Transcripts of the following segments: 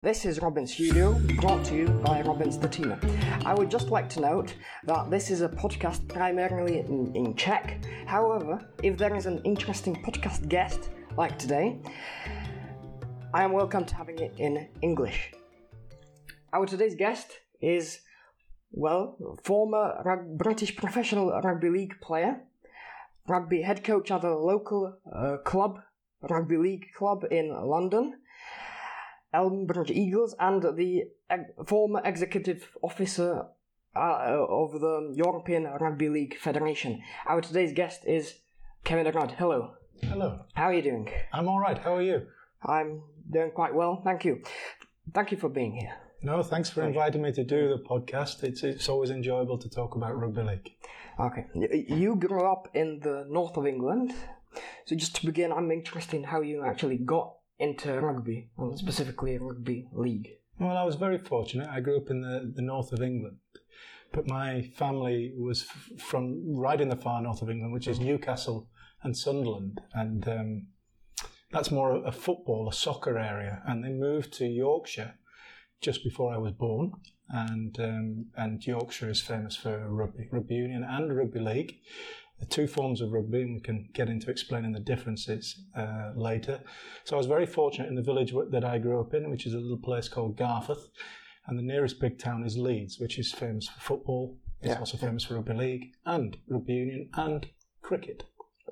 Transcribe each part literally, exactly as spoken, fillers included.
This is Robin's Studio, brought to you by Robin Statina. I would just like to note that this is a podcast primarily in, in Czech. However, if there is an interesting podcast guest, like today, I am welcome to having it in English. Our today's guest is, well, former rug- British professional rugby league player, rugby head coach at a local uh, club, rugby league club in London, Elmbridge Eagles, and the eg- former executive officer uh, of the European Rugby League Federation. Our today's guest is Kevin Rudd. Hello. Hello. How are you doing? I'm all right. How are you? I'm doing quite well, thank you. Thank you for being here. No, thanks for inviting me to do the podcast. It's it's always enjoyable to talk about rugby league. Okay. You grew up in the north of England. So just to begin, I'm interested in how you actually got into rugby, and specifically rugby league. Well, I was very fortunate. I grew up in the, the north of England, but my family was f- from right in the far north of England, which is Newcastle and Sunderland, and um, that's more a football, a soccer area, and they moved to Yorkshire just before I was born, and um, and Yorkshire is famous for rugby, rugby union and rugby league. The two forms of rugby, and we can get into explaining the differences uh, later. So I was very fortunate in the village that I grew up in, which is a little place called Garforth, and the nearest big town is Leeds, which is famous for football. It's yeah. also famous for rugby league and rugby union and cricket.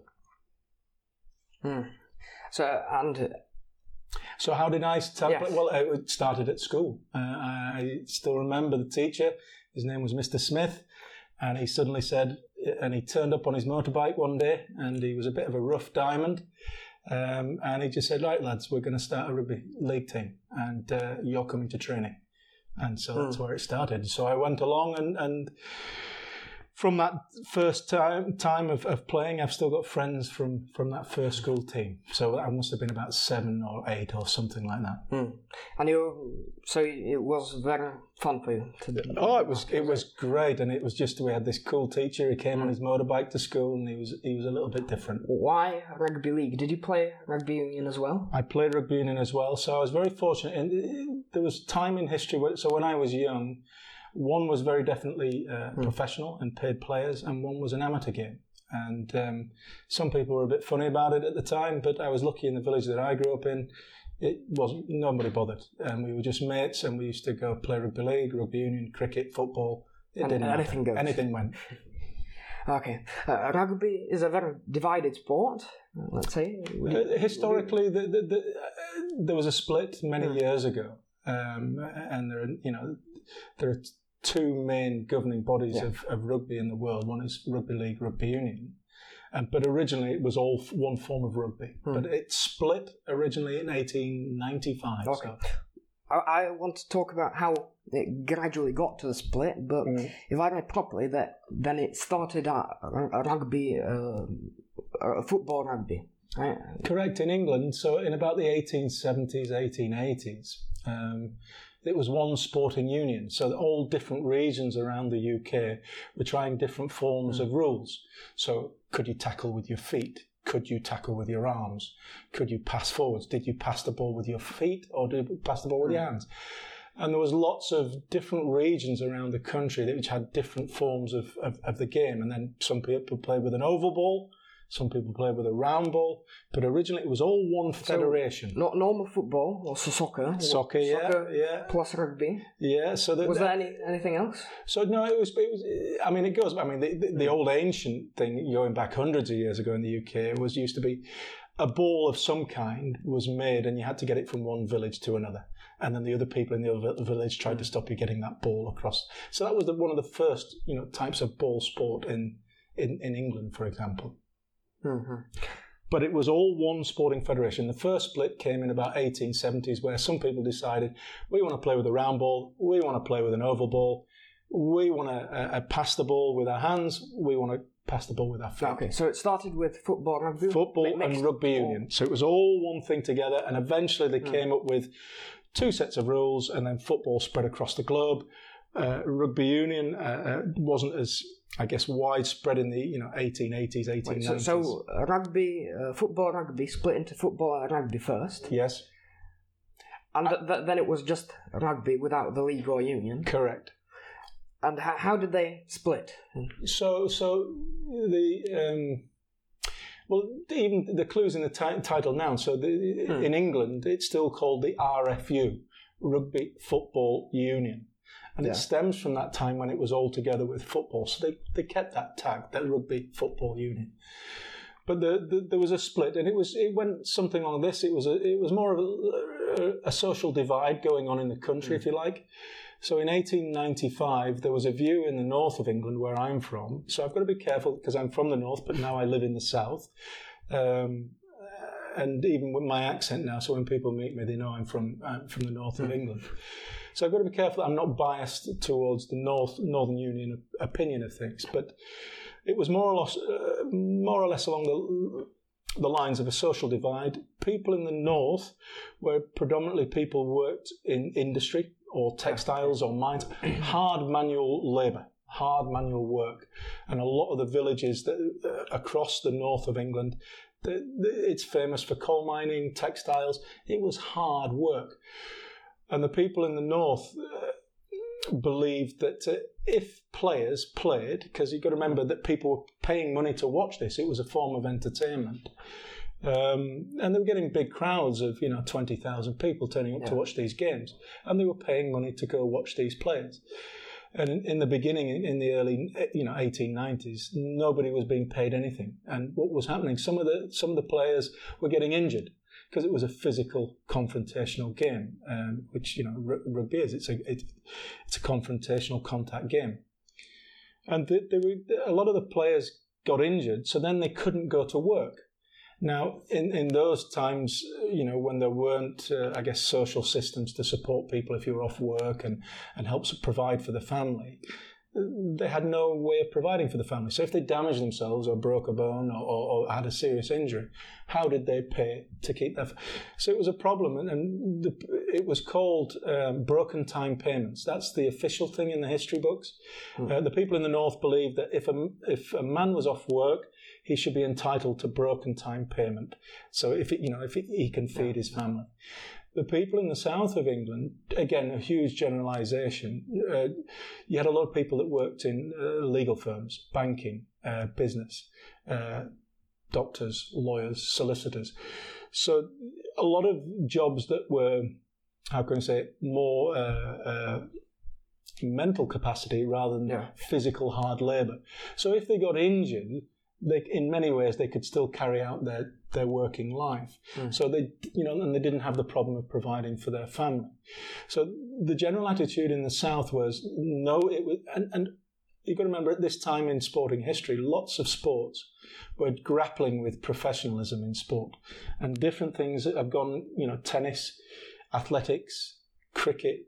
Hmm. So and. So how did I start? Yes. Well, it started at school. Uh, I still remember the teacher. His name was Mister Smith, and he suddenly said, and he turned up on his motorbike one day, and he was a bit of a rough diamond, um, and he just said, right, lads, we're going to start a rugby league team, and uh, you're coming to training. And so mm. that's where it started. So I went along, and, and from that first time time of, of playing, I've still got friends from, from that first school team. So I must have been about seven or eight or something like that. Mm. And you, so it was very fun for you to do. Oh, it was it was great, and it was just we had this cool teacher. He came mm. on his motorbike to school, and he was he was a little bit different. Why rugby league? Did you play rugby union as well? I played rugby union as well, so I was very fortunate. And there was time in history where, so when I was young, one was very definitely uh, mm. professional and paid players, and one was an amateur game. And um, some people were a bit funny about it at the time, but I was lucky in the village that I grew up in. It wasn't, nobody bothered. And we were just mates, and we used to go play rugby league, rugby union, cricket, football. It and, didn't anything matter. goes. Anything went. Okay. Uh, rugby is a very divided sport, let's say. We, uh, historically, we... the, the, the, uh, there was a split many mm. years ago. Um, and there are, you know, there are two main governing bodies yeah. of, of rugby in the world. One is rugby league, rugby union. Um, but originally it was all f- one form of rugby. Hmm. But it split originally in eighteen ninety-five. Okay. So. I, I want to talk about how it gradually got to the split, but mm. if I read properly, that then it started at a rugby, uh, a football rugby. Right? Correct, in England. So in about the eighteen seventies, eighteen eighties, um, it was one sporting union. So all different regions around the U K were trying different forms mm. of rules. So could you tackle with your feet? Could you tackle with your arms? Could you pass forwards? Did you pass the ball with your feet, or did you pass the ball with mm. your hands? And there was lots of different regions around the country that which had different forms of, of, of the game. And then some people played with an oval ball. Some people play with a round ball, but originally it was all one federation. So, not normal football or soccer. Soccer, yeah, soccer yeah. Plus rugby. Yeah. So the, was the, there any anything else? So no, it was. It was. I mean, it goes. I mean, the, the, the old ancient thing going back hundreds of years ago in the U K was used to be a ball of some kind was made, and you had to get it from one village to another, and then the other people in the other village tried to stop you getting that ball across. So that was the, one of the first, you know, types of ball sport in in, in England, for example. Mm-hmm. But it was all one sporting federation. The first split came in about eighteen seventies, where some people decided, we want to play with a round ball, we want to play with an oval ball, we want to uh, uh, pass the ball with our hands, we want to pass the ball with our feet. Okay, so it started with football, rugby, football and rugby union. So it was all one thing together, and eventually they mm. came up with two sets of rules, and then football spread across the globe. Uh, rugby union uh, uh, wasn't as, I guess, widespread in the you know eighteen eighties, eighteen nineties. Wait, so, so uh, rugby, uh, football, rugby split into football and rugby first. Yes. And th- th- then it was just rugby without the league or union. Correct. And how, how did they split? So, so the um, well, even the clues in the t- title now. So, the, hmm. in England, it's still called the R F U, Rugby Football Union, and yeah. it stems from that time when it was all together with football. So they, they kept that tag, that Rugby Football Union. But the, the, there was a split, and it was it went something like this. It was a, it was more of a, a, a social divide going on in the country, hmm. if you like. So in eighteen ninety-five, there was a view in the north of England, where I'm from. So I've got to be careful because I'm from the north, but now I live in the south. Um, and even with my accent now, so when people meet me, they know I'm from I'm from the north mm. of England. So I've got to be careful that I'm not biased towards the North Northern Union opinion of things. But it was more or less, uh, more or less along the the lines of a social divide. People in the north were predominantly people who worked in industry, or textiles or mines, hard manual labour, hard manual work. And a lot of the villages that, uh, across the north of England, the, the, it's famous for coal mining, textiles. It was hard work. And the people in the north uh, believed that uh, if players played, because you've got to remember that people were paying money to watch this, it was a form of entertainment. Um, and they were getting big crowds of, you know, twenty thousand people turning up yeah. to watch these games. And they were paying money to go watch these players. And in, in the beginning, in the early, you know, eighteen nineties, nobody was being paid anything. And what was happening, some of the some of the players were getting injured because it was a physical, confrontational game, um, which, you know, r- rugby is. It's a, it, it's a confrontational contact game. And the, the, a lot of the players got injured, so then they couldn't go to work. Now, in, in those times, you know, when there weren't, uh, I guess, social systems to support people if you were off work and, and help provide for the family, they had no way of providing for the family. So if they damaged themselves or broke a bone or, or, or had a serious injury, how did they pay to keep that? So it was a problem, and, and the, it was called um, broken time payments. That's the official thing in the history books. Mm. Uh, the people in the north believed that if a, if a man was off work, he should be entitled to broken time payment. So if it, you know if it, he can feed his family. The people in the south of England, again, a huge generalisation. Uh, you had a lot of people that worked in uh, legal firms, banking, uh, business, uh, doctors, lawyers, solicitors. So a lot of jobs that were, how can I say it, more uh, uh, mental capacity rather than yeah. physical hard labour. So if they got injured, they, in many ways, they could still carry out their, their working life. Mm. So they, you know, and they didn't have the problem of providing for their family. So the general attitude in the South was no. It was, and, and you've got to remember at this time in sporting history, lots of sports were grappling with professionalism in sport, and different things have gone. You know, tennis, athletics, cricket,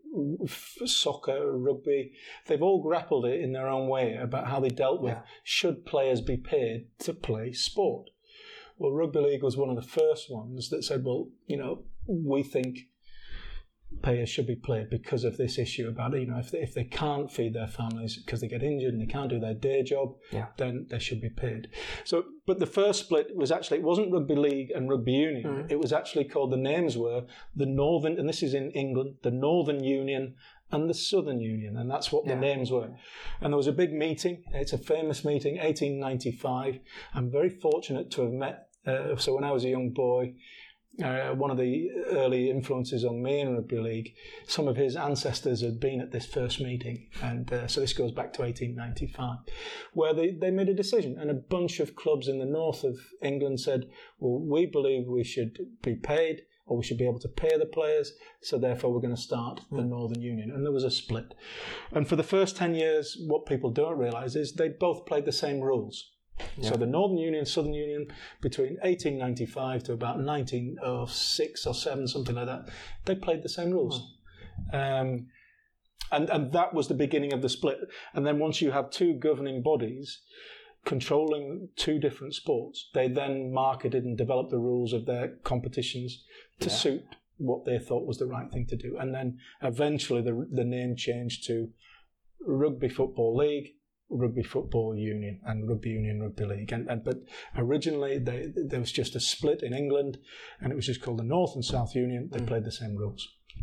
soccer, rugby, they've all grappled it in their own way about how they dealt with, yeah. should players be paid to play sport? Well, Rugby League was one of the first ones that said, well, you know, we think players should be paid because of this issue about, you know, if they, if they can't feed their families because they get injured and they can't do their day job, yeah. then they should be paid. So, but the first split was actually, it wasn't Rugby League and Rugby Union. Mm. It was actually called, the names were the Northern, and this is in England, the Northern Union and the Southern Union, and that's what yeah. the names were. And there was a big meeting. It's a famous meeting, eighteen ninety-five. I'm very fortunate to have met, uh, so when I was a young boy, Uh, one of the early influences on me in Rugby League, some of his ancestors had been at this first meeting, and uh, so this goes back to eighteen ninety-five, where they, they made a decision, and a bunch of clubs in the north of England said, well, we believe we should be paid, or we should be able to pay the players, so therefore we're going to start the Northern Union. And there was a split. And for the first ten years, what people don't realise is they both played the same rules. Yeah. So the Northern Union, Southern Union, between eighteen ninety-five to about nineteen oh six or seven, something like that, they played the same rules. Oh. Um, and, and that was the beginning of the split. And then once you have two governing bodies controlling two different sports, they then marketed and developed the rules of their competitions to yeah. suit what they thought was the right thing to do. And then eventually the, the name changed to Rugby Football League, Rugby Football Union, and Rugby Union Rugby League. And, and but originally they, there was just a split in England, and it was just called the North and South Union. They mm. played the same rules.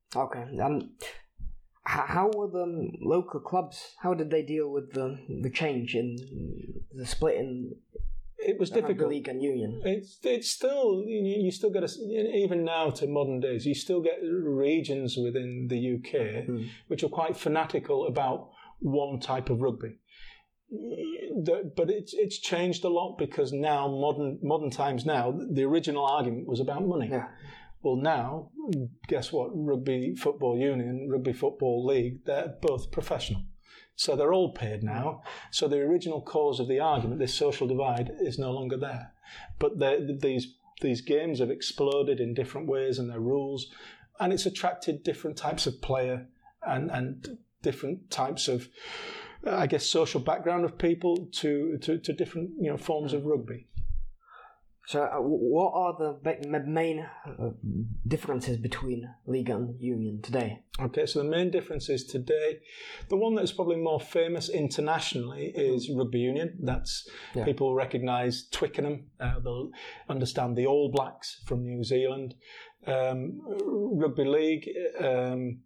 Okay, and how were the local clubs? How did they deal with the the change in the split in? It was difficult. League and Union. It's it's still you, you still get a, even now to modern days you still get regions within the U K mm. which are quite fanatical about one type of rugby. The, but it's it's changed a lot because now modern modern times now the original argument was about money. Yeah. Well, now guess what? Rugby Football Union, Rugby Football League, they're both professional. So they're all paid now. So the original cause of the argument, this social divide, is no longer there. But these these games have exploded in different ways and their rules, and it's attracted different types of player and, and different types of, I guess, social background of people to, to, to different you know forms of rugby. So, uh, what are the main uh, differences between League and Union today? Okay, so the main differences today, the one that is probably more famous internationally is Rugby Union. That's yeah. People recognise Twickenham. Uh, they'll understand the All Blacks from New Zealand. Um, Rugby League. Um,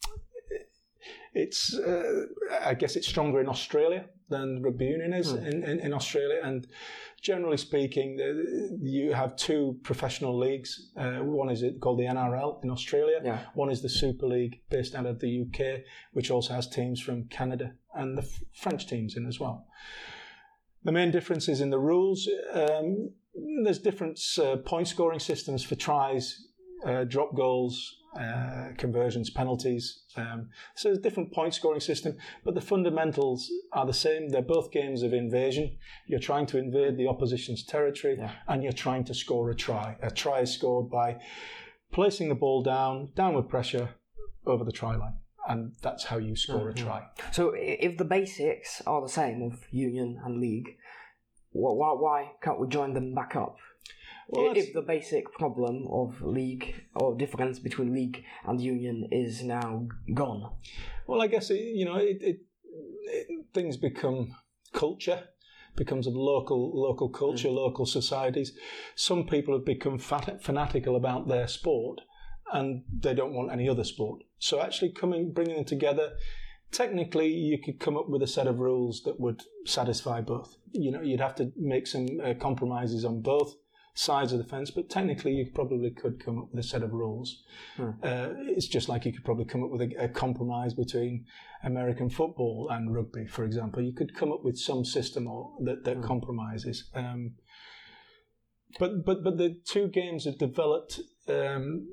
It's, uh, I guess it's stronger in Australia than Rugby Union is mm. in, in, in Australia. And generally speaking, you have two professional leagues. Uh, one is called the N R L in Australia. Yeah. One is the Super League based out of the U K, which also has teams from Canada and the F- French teams in as well. The main difference is in the rules. Um, there's different uh, point scoring systems for tries, uh, drop goals, Uh, conversions, penalties. Um, so there's a different point scoring system, but the fundamentals are the same. They're both games of invasion. You're trying to invade the opposition's territory yeah. and you're trying to score a try. A try is scored by placing the ball down, downward pressure over the try line. And that's how you score mm-hmm. a try. So if the basics are the same of Union and League, why, why can't we join them back up? Well, if the basic problem of league or difference between league and union is now gone, well, I guess it, you know it, it, it, things become culture, becomes a local local culture, mm. local societies. Some people have become fat, fanatical about their sport, and they don't want any other sport. So actually, coming bringing them together. Technically, you could come up with a set of rules that would satisfy both. You know, you'd have to make some uh, compromises on both sides of the fence, but technically you probably could come up with a set of rules. Hmm. Uh, it's just like you could probably come up with a, a compromise between American football and rugby, for example. You could come up with some system or, that, that hmm. compromises. Um, but, but, but the two games have developed um,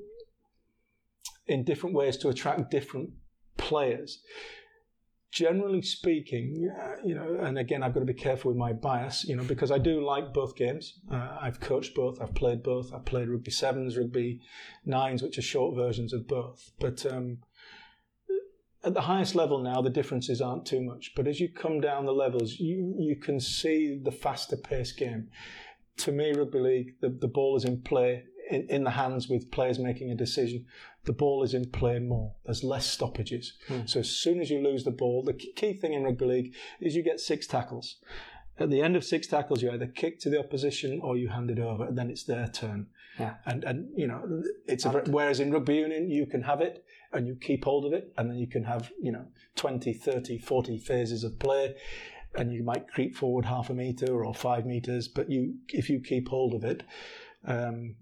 in different ways to attract different players. Generally speaking, uh, you know, and again, I've got to be careful with my bias, you know, because I do like both games. Uh, I've coached both, I've played both, I've played rugby sevens, rugby nines, which are short versions of both. But um, at the highest level now, the differences aren't too much. But as you come down the levels, you, you can see the faster paced game. To me, rugby league, the, the ball is in play, in, in the hands with players making a decision. The ball is in play more. There's less stoppages. Mm. So as soon as you lose the ball, the key thing in rugby league is you get six tackles. At the end of six tackles, you either kick to the opposition or you hand it over, and then it's their turn. Yeah. And and you know, it's a, whereas in rugby union you can have it and you keep hold of it, and then you can have you know twenty, thirty, forty phases of play, and you might creep forward half a metre or five metres, but you if you keep hold of it. Um,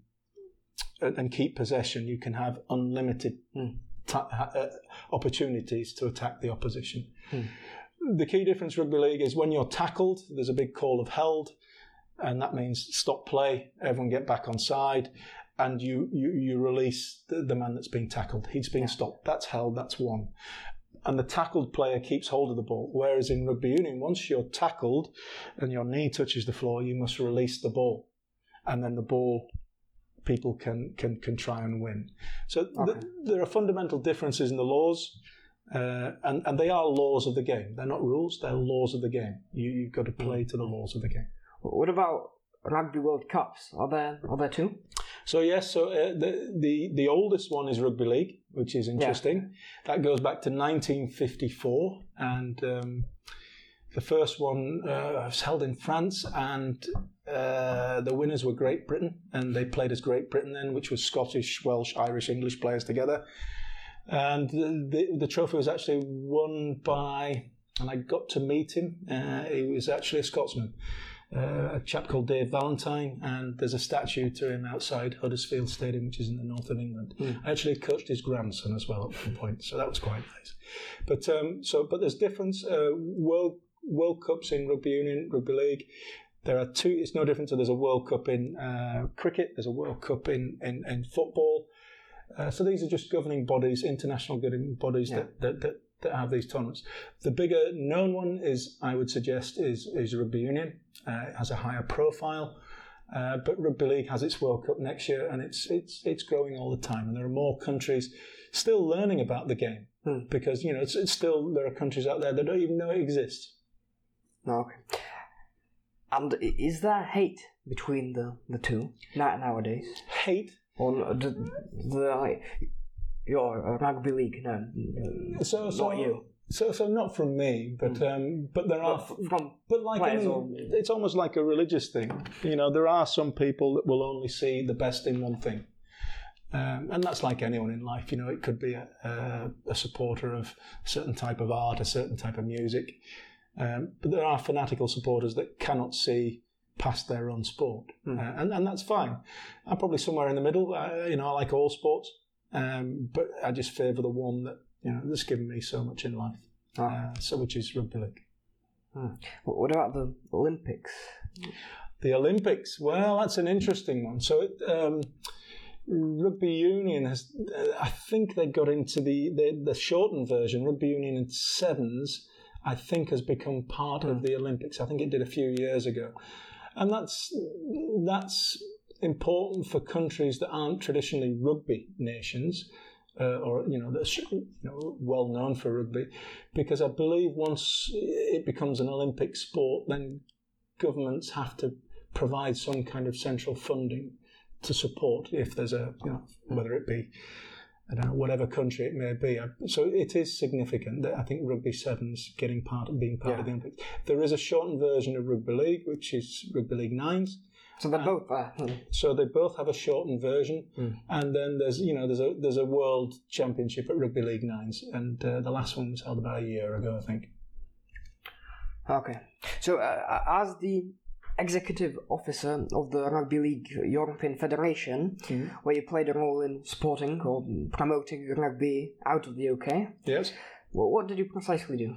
and keep possession, you can have unlimited mm. ta- uh, opportunities to attack the opposition. Mm. The key difference rugby league is when you're tackled, there's a big call of held, and that means stop play, everyone get back on side, and you you, you release the, the man that's being tackled. He's been yeah. stopped. That's held, that's one. And the tackled player keeps hold of the ball. Whereas in rugby union, once you're tackled and your knee touches the floor, you must release the ball. And then the ball... people can, can, can try and win. So okay. th- there are fundamental differences in the laws, uh, and, and they are laws of the game. They're not rules, they're laws of the game. You, you've got to play to the laws of the game. What about Rugby World Cups? Are there are there two? So yes, so uh, the, the the oldest one is Rugby League, which is interesting. Yeah. That goes back to nineteen fifty-four, and um, the first one uh, was held in France, and Uh, the winners were Great Britain, and they played as Great Britain then, which was Scottish, Welsh, Irish, English players together. And the, the, the trophy was actually won by, and I got to meet him, uh, he was actually a Scotsman, uh, a chap called Dave Valentine, and there's a statue to him outside Huddersfield Stadium, which is in the north of England. Mm. I actually coached his grandson as well at one point, so that was quite nice. But um, so, but there's difference. Uh, World World Cups in rugby union, rugby league. There are two. It's no different. So there's a World Cup in uh, cricket. There's a World Cup in in, in football. Uh, so these are just governing bodies, international governing bodies yeah. that, that that that have these tournaments. The bigger known one is, I would suggest, is is rugby union. Uh, it has a higher profile. Uh, but rugby league has its World Cup next year, and it's it's it's growing all the time. And there are more countries still learning about the game hmm. because you know it's, it's still there are countries out there that don't even know it exists. Okay. And is there hate between the, the two nowadays? Hate? Or the, the your rugby league? No, so, so, not you. So, so not from me, but mm. um, but there are but from but like I mean, it's almost like a religious thing. You know, there are some people that will only see the best in one thing, um, and that's like anyone in life. You know, it could be a, a, a supporter of a certain type of art, a certain type of music. Um, but there are fanatical supporters that cannot see past their own sport, mm. uh, and and that's fine. I'm probably somewhere in the middle. I, you know, I like all sports, um, but I just favour the one that you know that's given me so much in life. Oh. Uh, so which is rugby league. Hmm. What about the Olympics? The Olympics. Well, that's an interesting one. So it, um, rugby union has. Uh, I think they got into the, the the shortened version. Rugby union in sevens, I think, has become part of the Olympics. I think it did a few years ago. And that's that's important for countries that aren't traditionally rugby nations, uh, or you know, that's you know, well known for rugby, because I believe once it becomes an Olympic sport, then governments have to provide some kind of central funding to support if there's a you know whether it be I don't know whatever country it may be. So it is significant that I think rugby sevens getting part of being part yeah. of the Olympics. There is a shortened version of rugby league, which is rugby league nines. So they're both there. Uh, so they both have a shortened version, mm. and then there's you know there's a there's a world championship at rugby league nines, and uh, the last one was held about a year ago, I think. Okay, so uh, as the executive officer of the Rugby League European Federation, mm. where you played a role in supporting or promoting rugby out of the U K. Yes. Well, what did you precisely do?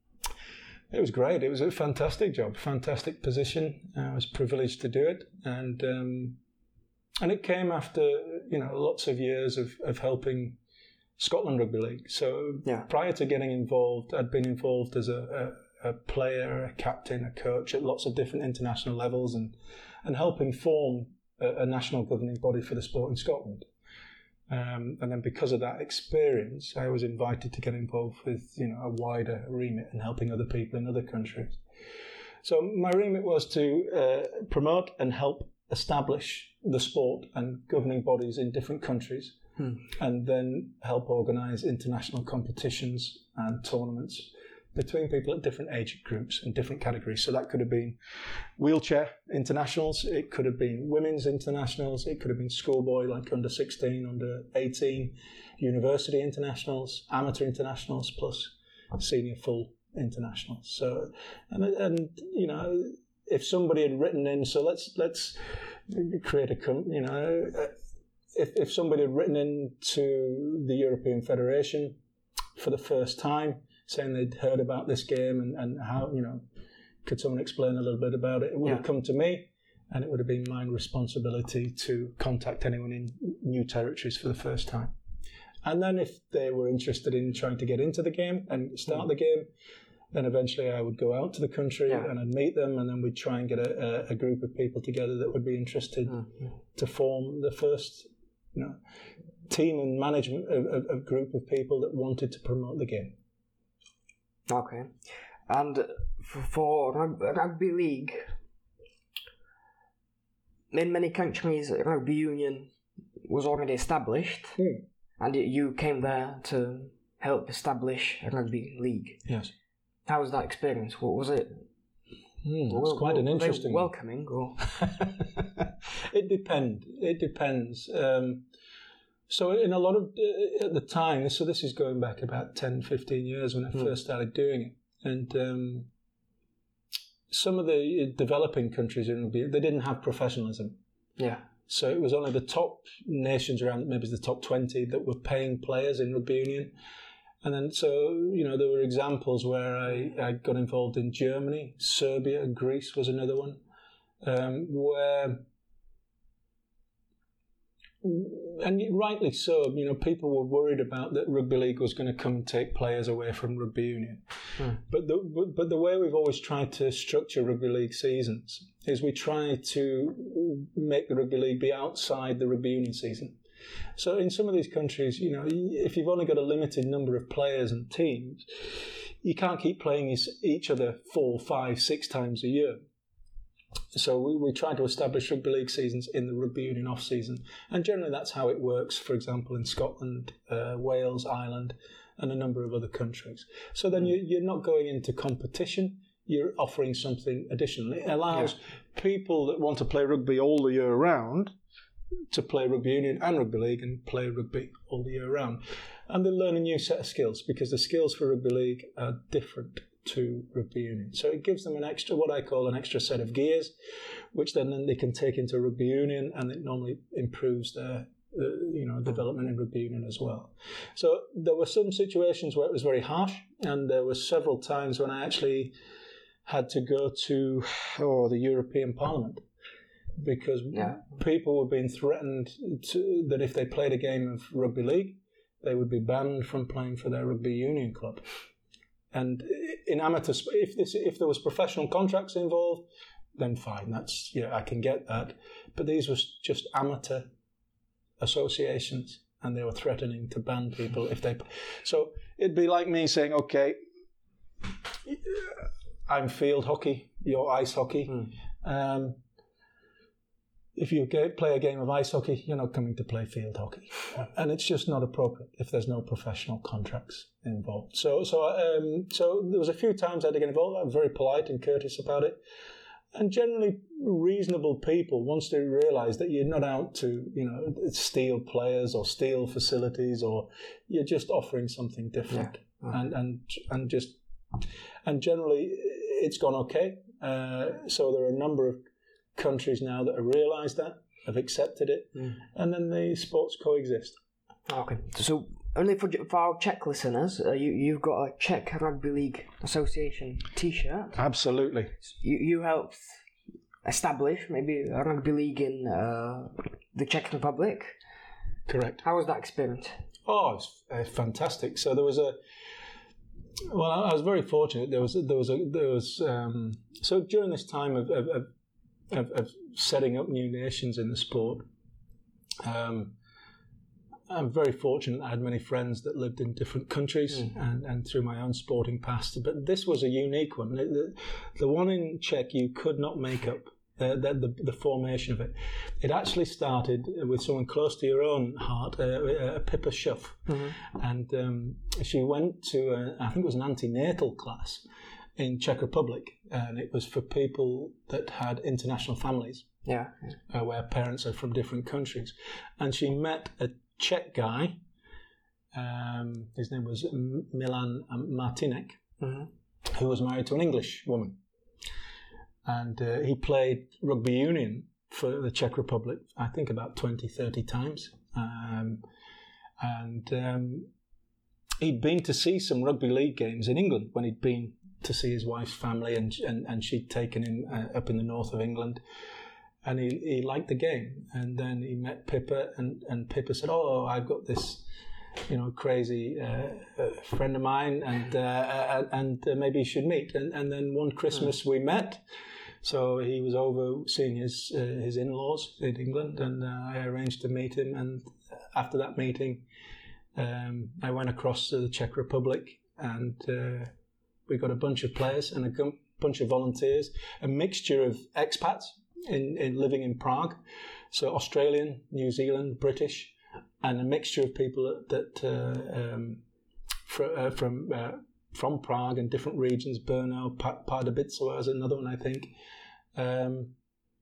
It was great. It was a fantastic job, fantastic position. I was privileged to do it, and um, and it came after you know lots of years of, of helping Scotland Rugby League. So yeah. prior to getting involved, I'd been involved as a, a, a player, a captain, a coach at lots of different international levels, and and helping form a, a national governing body for the sport in Scotland. Um, and then because of that experience, I was invited to get involved with, you know, a wider remit and helping other people in other countries. So my remit was to uh, promote and help establish the sport and governing bodies in different countries, hmm. and then help organise international competitions and tournaments between people at different age groups and different categories. So that could have been wheelchair internationals, it could have been women's internationals, it could have been schoolboy like under sixteen, under eighteen, university internationals, amateur internationals, plus senior full internationals. So, and, and you know, if somebody had written in, so let's let's create a, you know, if, if somebody had written in to the European Federation for the first time, saying they'd heard about this game and, and how, you know, could someone explain a little bit about it? It would yeah. have come to me, and it would have been my responsibility to contact anyone in new territories for the first time. And then if they were interested in trying to get into the game and start mm. the game, then eventually I would go out to the country yeah. and I'd meet them, and then we'd try and get a, a, a group of people together that would be interested mm. to form the first, you know, team and management of, of, of group of people that wanted to promote the game. Okay, and for rugby league, in many countries, rugby union was already established, mm. and you came there to help establish a rugby league. Yes. How was that experience? What was it? Mm, it's quite an interesting. Welcoming, or it depends. It depends. Um, So in a lot of, uh, at the time, so this is going back about ten, fifteen years when I mm. first started doing it. And um, some of the developing countries in rugby, they didn't have professionalism. Yeah. So it was only the top nations around, maybe the top twenty, that were paying players in rugby union. And then, so, you know, there were examples where I, I got involved in Germany, Serbia, Greece was another one, um, where, and rightly so, you know, people were worried about that rugby league was going to come and take players away from rugby union. Hmm. But, the, but, but the way we've always tried to structure rugby league seasons is we try to make the rugby league be outside the rugby union season. So in some of these countries, you know, if you've only got a limited number of players and teams, you can't keep playing each other four, five, six times a year. So we, we try to establish rugby league seasons in the rugby union off season, and generally that's how it works. For example, in Scotland, uh, Wales, Ireland, and a number of other countries. So then you, you're not going into competition. You're offering something additional. It allows yeah. people that want to play rugby all the year round to play rugby union and rugby league and play rugby all the year round. And they learn a new set of skills, because the skills for rugby league are different to rugby union. So it gives them an extra, what I call an extra set of gears, which then, then they can take into rugby union, and it normally improves their uh, you know, development in rugby union as well. So there were some situations where it was very harsh, and there were several times when I actually had to go to oh, the European Parliament, because yeah. people were being threatened to, that if they played a game of rugby league, they would be banned from playing for their rugby union club. And in amateur, if this, if there was professional contracts involved, then fine. That's yeah, I can get that. But these was just amateur associations, and they were threatening to ban people if they. So it'd be like me saying, okay, I'm field hockey, you're ice hockey. Hmm. Um, If you play a game of ice hockey, you're not coming to play field hockey, and it's just not appropriate if there's no professional contracts involved. So, so, um, so there was a few times I had to get involved. I was very polite and courteous about it, and generally reasonable people, once they realise that you're not out to, you know, steal players or steal facilities, or you're just offering something different, yeah. Mm-hmm. and and and just and generally it's gone okay. Uh, so there are a number of countries now that have realised that, have accepted it, mm. and then the sports coexist. Okay, so only for, for our Czech listeners, uh, you, you've got a Czech Rugby League Association T-shirt. Absolutely. You, you helped establish maybe a rugby league in uh, the Czech Republic. Correct. How was that experience? Oh, it's uh, fantastic. So there was a. Well, I was very fortunate. There was there was a there was um, so during this time of. of, of Of, of setting up new nations in the sport. Um, I'm very fortunate I had many friends that lived in different countries mm. and, and through my own sporting past. But this was a unique one. The, the one in Czech you could not make up, uh, the, the, the formation of it. It actually started with someone close to your own heart, uh, uh, Pippa Schuff. Mm-hmm. And um, she went to, a, I think it was an antenatal class in Czech Republic, and it was for people that had international families, yeah, uh, where parents are from different countries. And she met a Czech guy, um, his name was Milan Martinek, mm-hmm. who was married to an English woman. And uh, he played rugby union for the Czech Republic, I think about twenty, thirty times. Um, and um, he'd been to see some rugby league games in England when he'd been to see his wife's family, and and, and she'd taken him uh, up in the north of England, and he, he liked the game. And then he met Pippa, and, and Pippa said, oh, I've got this, you know, crazy uh, uh, friend of mine, and uh, and uh, maybe you should meet. And, and then one Christmas mm. we met, so he was over seeing his uh, his in-laws in England, and uh, I arranged to meet him. And after that meeting, um, I went across to the Czech Republic, and uh, we got a bunch of players and a bunch of volunteers, a mixture of expats in, in living in Prague, so Australian, New Zealand, British, and a mixture of people that, that uh, um, fr- uh, from uh, from Prague and different regions. Brno, Pardubice was another one, I think. Um,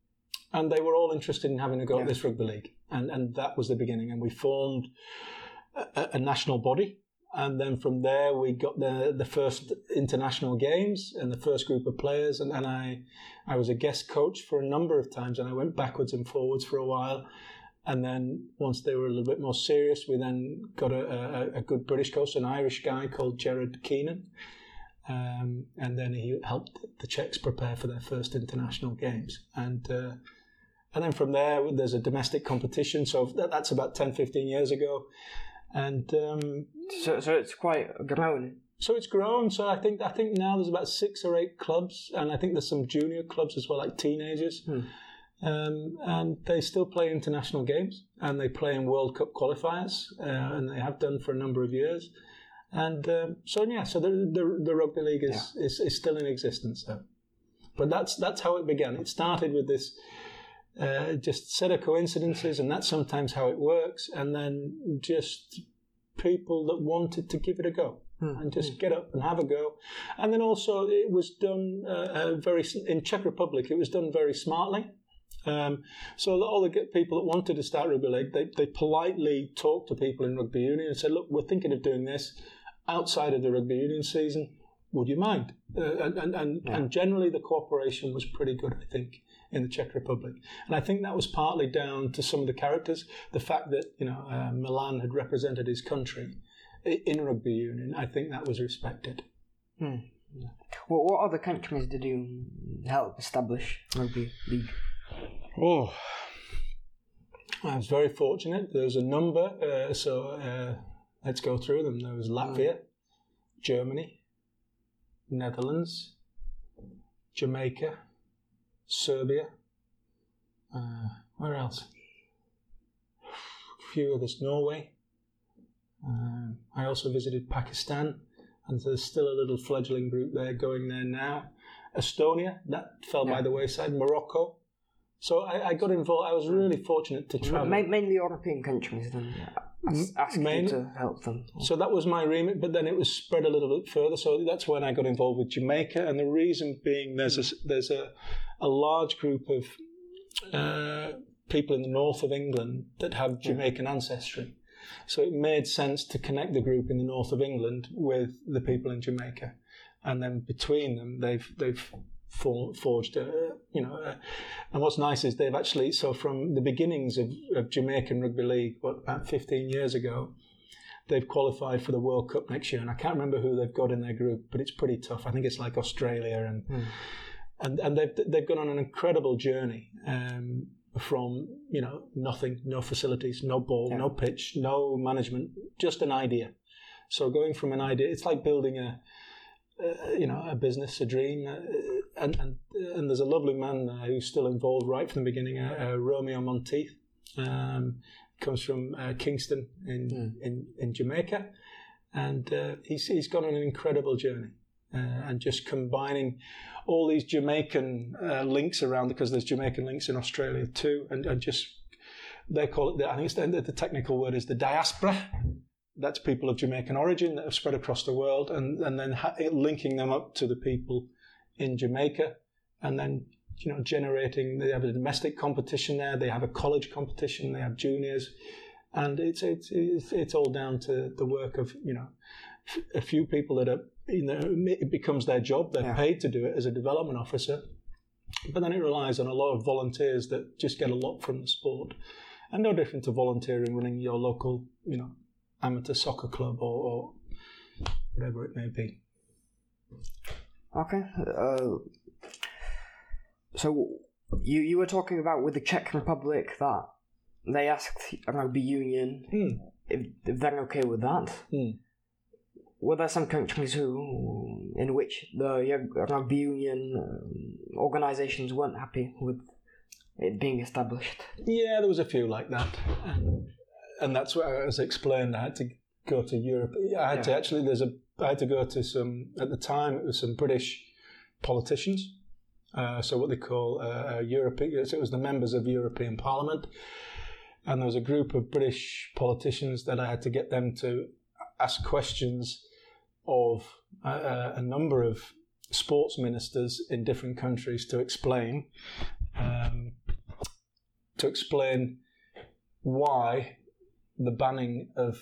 and they were all interested in having a go yeah. at this rugby league, and and that was the beginning. And we formed a, a national body, and then from there we got the the first international games and the first group of players, and, and I I was a guest coach for a number of times, and I went backwards and forwards for a while. And then once they were a little bit more serious, we then got a, a, a good British coach, an Irish guy called Gerard Keenan. Um, and then he helped the Czechs prepare for their first international games. And uh, and then from there, there's a domestic competition. So that, that's about ten, fifteen years ago. And um, so so it's quite grown. So it's grown. So I think I think now there's about six or eight clubs. And I think there's some junior clubs as well, like teenagers. Hmm. Um, and they still play international games, and they play in World Cup qualifiers, uh, and they have done for a number of years. And um, so yeah, so the the, the rugby league is, yeah. is is still in existence. So. But that's that's how it began. It started with this uh, just set of coincidences, and that's sometimes how it works. And then just people that wanted to give it a go. Hmm. And just get up and have a go. And then also it was done uh, uh, very in Czech Republic. It was done very smartly. Um, so all the people that wanted to start rugby league, they, they politely talked to people in rugby union and said, look, we're thinking of doing this outside of the rugby union season. Would you mind? Uh, and and, and, yeah. and generally the cooperation was pretty good, I think, in the Czech Republic. And I think that was partly down to some of the characters. The fact that, you know, uh, Milan had represented his country in rugby union, I think that was respected. Hmm. Yeah. Well, what other countries did you help establish rugby league? Oh, I was very fortunate. There was a number, uh, so uh, let's go through them. There was Latvia, mm. Germany, Netherlands, Jamaica, Serbia. Uh, where else? A few others. Norway. Uh, I also visited Pakistan, and there's still a little fledgling group there going there now. Estonia, that fell yeah. by the wayside. Morocco. So I, I got involved. I was really fortunate to travel. Mainly European countries, then asking you to help them. So that was my remit, but then it was spread a little bit further. So that's when I got involved with Jamaica, and the reason being there's a, there's a, a large group of uh, people in the north of England that have Jamaican yeah. ancestry. So it made sense to connect the group in the north of England with the people in Jamaica, and then between them they've they've. For, forged, uh, you know, uh, and what's nice is they've actually, so from the beginnings of, of Jamaican Rugby League, what, about fifteen years ago, they've qualified for the World Cup next year, and I can't remember who they've got in their group, but it's pretty tough. I think it's like Australia, and mm. and, and they've they've gone on an incredible journey um, from, you know, nothing, no facilities, no ball, yeah. no pitch, no management, just an idea. So going from an idea, it's like building a, uh, you know, a business, a dream. Uh, And, and and there's a lovely man uh, who's still involved right from the beginning, uh, uh, Romeo Monteith. Um, comes from uh, Kingston in, mm. in in Jamaica, and uh, he's he's gone on an incredible journey, uh, and just combining all these Jamaican uh, links around, because there's Jamaican links in Australia too, and, and just they call it the, I think it's the, the technical word is the diaspora. That's people of Jamaican origin that have spread across the world, and and then ha- linking them up to the people in Jamaica, and then, you know, generating. They have a domestic competition there. They have a college competition. They have juniors, and it's it's it's, it's all down to the work of, you know, a few people that are, you know, it becomes their job. They're yeah. paid to do it as a development officer, but then it relies on a lot of volunteers that just get a lot from the sport, and no different to volunteering running your local, you know, amateur soccer club or, or whatever it may be. Okay. Uh, so you you were talking about with the Czech Republic that they asked rugby union mm. if, if they're okay with that. Mm. Were there some countries who, in which the rugby union um, organisations weren't happy with it being established? Yeah, there was a few like that, and, and that's what, as explained, I had to go to Europe. I had yeah. to actually. There's a. I had to go to some, at the time, it was some British politicians, uh, so what they call uh, European, so it was the members of European Parliament, and there was a group of British politicians that I had to get them to ask questions of a, a number of sports ministers in different countries to explain um, to explain why the banning of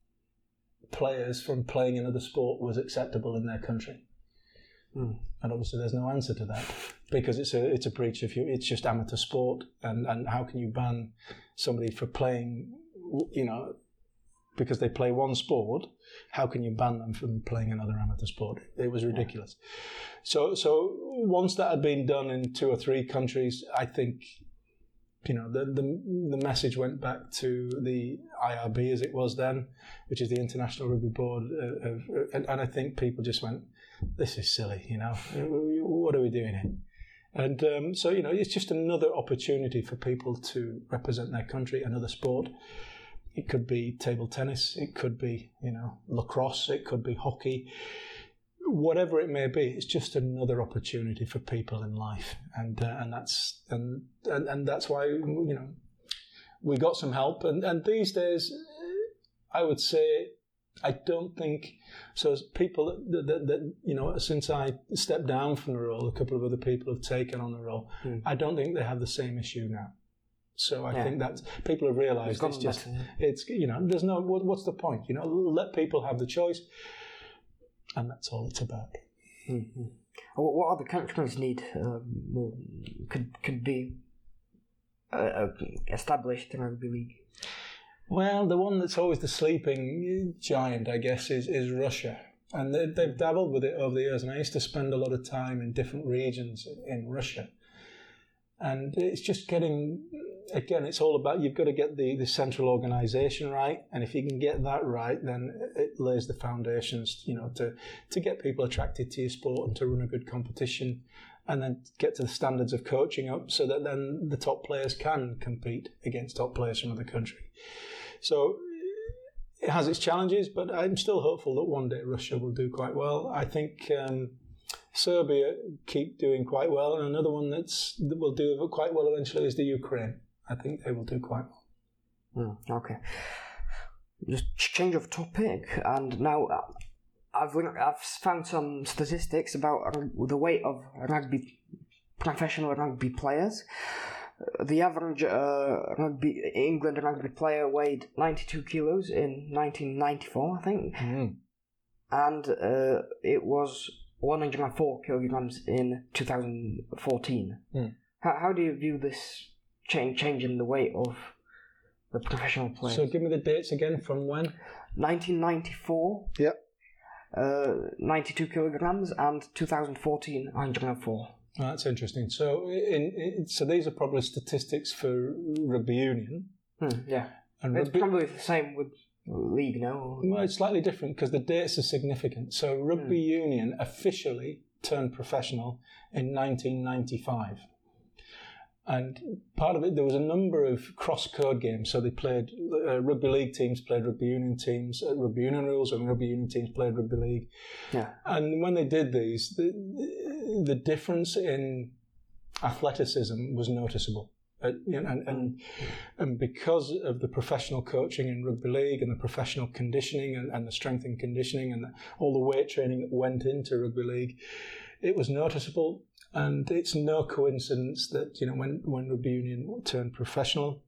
players from playing another sport was acceptable in their country. Mm. And obviously there's no answer to that because it's a it's a breach of it's just amateur sport, and, and how can you ban somebody for playing, you know, because they play one sport, how can you ban them from playing another amateur sport? It was ridiculous. Yeah. So so once that had been done in two or three countries, I think, you know, the the, the message went back to the I R B as it was then, which is the International Rugby Board, uh, of, and, and I think people just went, this is silly, you know, what are we doing here? And um, so, you know, it's just another opportunity for people to represent their country, another sport. It could be table tennis, it could be, you know, lacrosse, it could be hockey, whatever it may be. It's just another opportunity for people in life, and uh, and that's and, and and that's why, you know, we got some help. And, and these days, I would say, I don't think so. As people that, that, that you know, since I stepped down from the role, a couple of other people have taken on the role. Mm. I don't think they have the same issue now. So I yeah. think that people have realised it's just, better, yeah. it's, you know, there's no, what, what's the point? You know, let people have the choice, and that's all it's about. Mm-hmm. What other countries need um, could could be uh, established in rugby league? Well, the one that's always the sleeping giant, I guess, is, is Russia. And they, they've dabbled with it over the years, and I used to spend a lot of time in different regions in Russia. And it's just getting, again, it's all about, you've got to get the, the central organisation right, and if you can get that right, then it lays the foundations, you know, to, to get people attracted to your sport and to run a good competition, and then get to the standards of coaching up so that then the top players can compete against top players from other countries. So it has its challenges, but I'm still hopeful that one day Russia will do quite well. I think um, Serbia keep doing quite well, and another one that's, that will do quite well eventually is the Ukraine. I think they will do quite well. Mm, okay. Just change of topic, and now I've I've found some statistics about the weight of rugby professional rugby players. The average uh, rugby England rugby player weighed ninety-two kilos in nineteen ninety-four, I think, mm. and uh, it was one hundred four kilograms in two thousand fourteen. Mm. How, how do you view this change change in the weight of the professional players? So give me the dates again. From when? nineteen ninety-four. Yep. Uh, ninety-two kilograms, and two thousand fourteen, one hundred four. Oh, that's interesting. So, in, in, so these are probably statistics for rugby union. Hmm, yeah, and it's rugby, probably the same with league, no? Well, it's slightly different because the dates are significant. So, rugby hmm. union officially turned professional in nineteen ninety-five. And part of it, there was a number of cross-code games. So they played, uh, rugby league teams played rugby union teams, uh, rugby union rules, and rugby union teams played rugby league. Yeah. And when they did these, the, the difference in athleticism was noticeable. Uh, you know, and, and and because of the professional coaching in rugby league and the professional conditioning and, and the strength and conditioning and the, all the weight training that went into rugby league, it was noticeable. And it's no coincidence that, you know, when, when rugby union turned professional,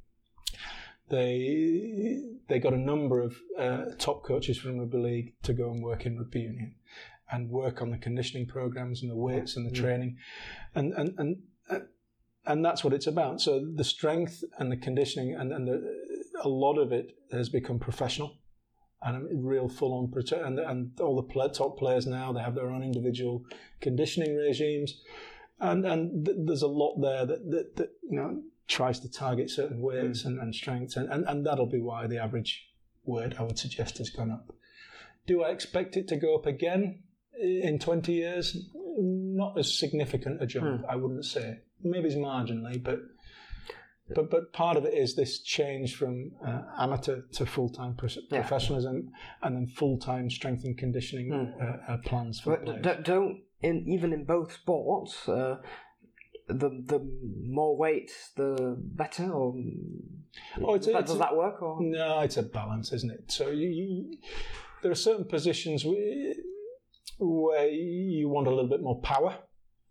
they they got a number of uh, top coaches from rugby league to go and work in rugby union and work on the conditioning programs and the weights and the mm. training, and and and uh, and that's what it's about. So the strength and the conditioning and and the, a lot of it has become professional. And a real full-on protect, and and all the play, top players now, they have their own individual conditioning regimes, and and th- there's a lot there that, that that you know tries to target certain weights mm. and, and strengths, and, and and that'll be why the average weight, I would suggest, has gone up. Do I expect it to go up again in twenty years? Not as significant a jump, mm. I wouldn't say. Maybe it's marginally, but. But but part of it is this change from uh, amateur to full-time pro- yeah. professionalism, and then full-time strength and conditioning mm. uh, uh, plans for but players. Don't, don't in, even in both sports, uh, the the more weight, the better, or oh, it's, that, it's does a, that work? Or? No, it's a balance, isn't it? So you, you, there are certain positions where, where you want a little bit more power.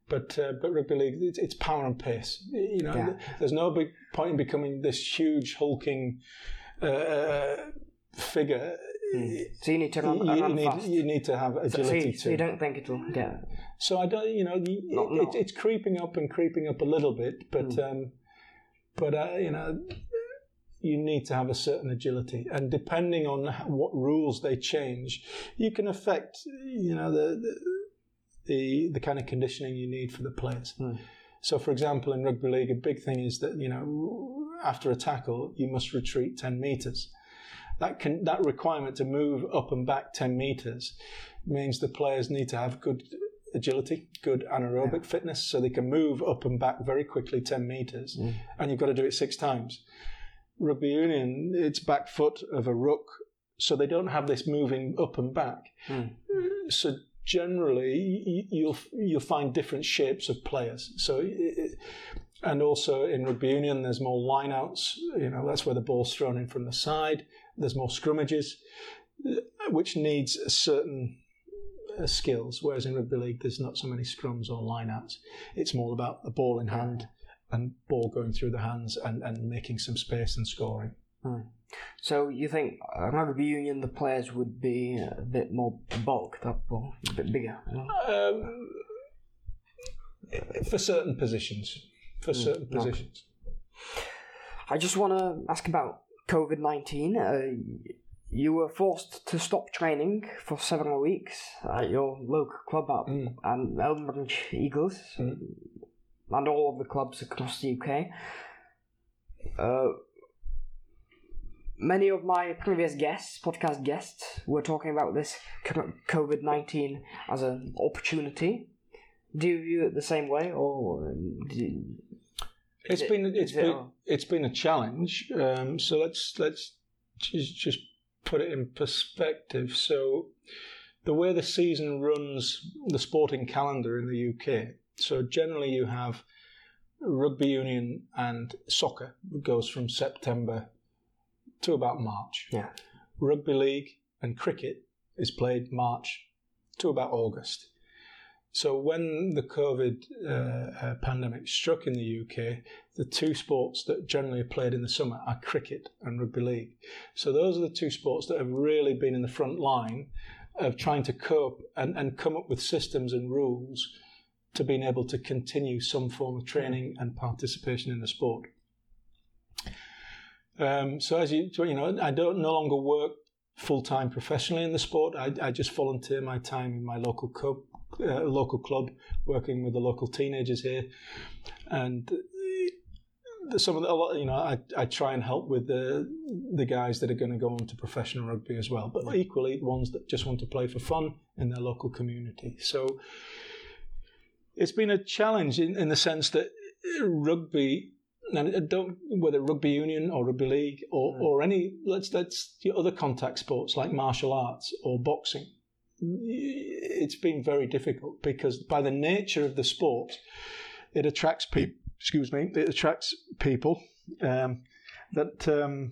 But uh, but rugby league, it's, it's power and pace. You know, Yeah. there's no big point in becoming this huge hulking uh, figure. Mm. So you need to run, You, run you need fast. you need to have So, so, agility you, so too. you don't think it'll get... So I don't, you know, you, Not- it, not- it's creeping up and creeping up a little bit, but Mm. um, but uh, you know, you need to have a certain agility, and depending on what rules they change, you can affect, you know, the the the, the kind of conditioning you need for the players. Mm. So, for example, in rugby league, a big thing is that, you know, after a tackle, you must retreat ten metres. That can that requirement to move up and back ten metres means the players need to have good agility, good anaerobic Yeah. fitness, so they can move up and back very quickly ten metres, Mm. and you've got to do it six times. Rugby union, it's back foot of a ruck, so they don't have this moving up and back. Mm. So generally, y- you'll you'll find different shapes of players. So, it, and also in rugby union, there's more lineouts. You know, that's where the ball's thrown in from the side. There's more scrummages, which needs a certain uh, skills. Whereas in rugby league, there's not so many scrums or lineouts. It's more about the ball in hand and ball going through the hands and, and making some space and scoring. Mm. So you think uh, rugby union, the players would be a bit more bulked up or a bit bigger? You know? Um, for certain positions. For Mm, certain okay. positions. I just want to ask about COVID nineteen. Uh, you were forced to stop training for several weeks at your local club at Mm. and Elmbridge Eagles Mm. and all of the clubs across the U K. Uh, many of my previous guests, podcast guests, were talking about this COVID nineteen as an opportunity. Do you view it the same way, or do you, It's it- been it's is it been a- it's been a challenge. Um, so let's let's just just put it in perspective. So the way the season runs, the sporting calendar in the U K. So generally you have rugby union and soccer goes from September to about March. Yeah. Rugby league and cricket is played March to about August. So when the COVID uh, uh, pandemic struck in the U K, the two sports that generally are played in the summer are cricket and rugby league. So those are the two sports that have really been in the front line of trying to cope and, and come up with systems and rules to being able to continue some form of training and participation in the sport. Um, so as you, you know, I don't no longer work full-time professionally in the sport. I, I just volunteer my time in my local club, uh, local club, working with the local teenagers here, and uh, some of the, a lot, you know, I, I try and help with the the guys that are going to go on to professional rugby as well, but equally ones that just want to play for fun in their local community. So it's been a challenge in, in the sense that rugby. And I don't whether rugby union or rugby league or, Mm. or any let's let's the other contact sports like martial arts or boxing, it's been very difficult because by the nature of the sport, it attracts people. Excuse me, it attracts people um, that um,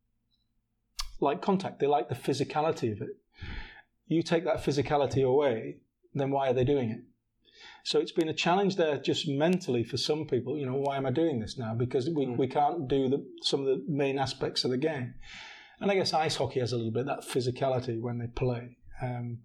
like contact. They like the physicality of it. You take that physicality away, then why are they doing it? So it's been a challenge there just mentally for some people. You know, why am I doing this now? Because we, Mm. we can't do the, some of the main aspects of the game. And I guess ice hockey has a little bit of that physicality when they play. Um,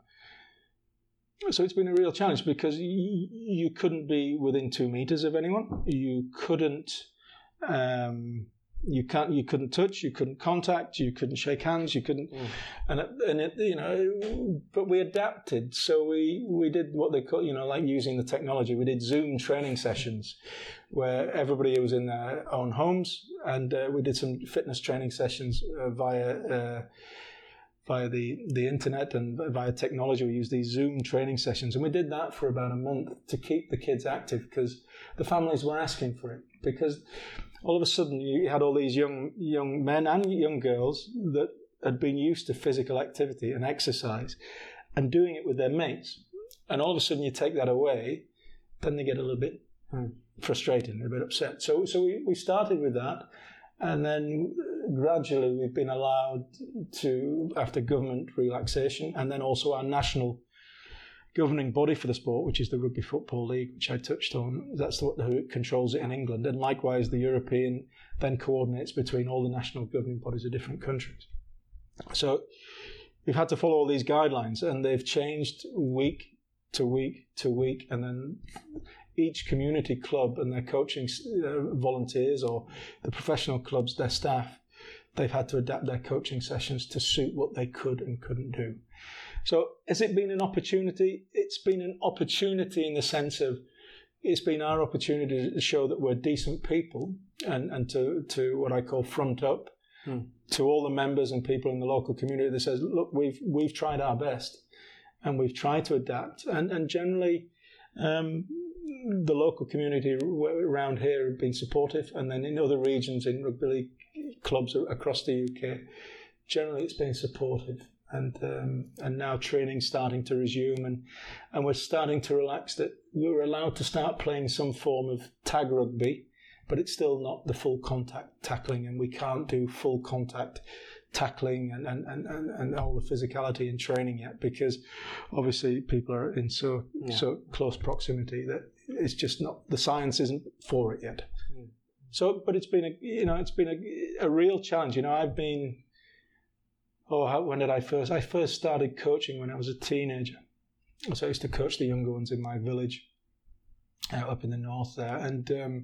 so it's been a real challenge because y- you couldn't be within two meters of anyone. You couldn't... Um, you can't. You couldn't touch. You couldn't contact. You couldn't shake hands. You couldn't, Mm. and it, and it, you know. But we adapted. So we we did what they call, you know, like using the technology. We did Zoom training sessions, where everybody was in their own homes, and uh, we did some fitness training sessions uh, via uh, via the the internet and via technology. We used these Zoom training sessions, and we did that for about a month to keep the kids active because the families were asking for it because. All of a sudden, you had all these young young men and young girls that had been used to physical activity and exercise and doing it with their mates. And all of a sudden, you take that away, then they get a little bit Mm. frustrated, a bit upset. So, so we, we started with that. And then gradually, we've been allowed to, after government relaxation, and then also our national governing body for the sport, which is the Rugby Football League, which I touched on. That's what who controls it in England, and likewise the European then coordinates between all the national governing bodies of different countries. So we've had to follow all these guidelines, and they've changed week to week to week, and then each community club and their coaching uh, volunteers, or the professional clubs, their staff, they've had to adapt their coaching sessions to suit what they could and couldn't do. So has it been an opportunity? It's been an opportunity in the sense of it's been our opportunity to show that we're decent people, and, and to, to what I call front up hmm. to all the members and people in the local community that says, look, we've we've tried our best and we've tried to adapt. And, and generally, um, the local community around here have been supportive, and then in other regions, in rugby league clubs across the U K, generally it's been supportive. And um, and now training's starting to resume, and, and we're starting to relax that we're allowed to start playing some form of tag rugby, but it's still not the full contact tackling, and we can't do full contact tackling and, and, and, and, and all the physicality in training yet, because obviously people are in so yeah. so close proximity that it's just not, the science isn't for it yet. Mm. So, but it's been a you know it's been a, a real challenge. You know, I've been. Oh, how, when did I first? I first started coaching when I was a teenager. So I used to coach the younger ones in my village, uh, up in the north there. And um,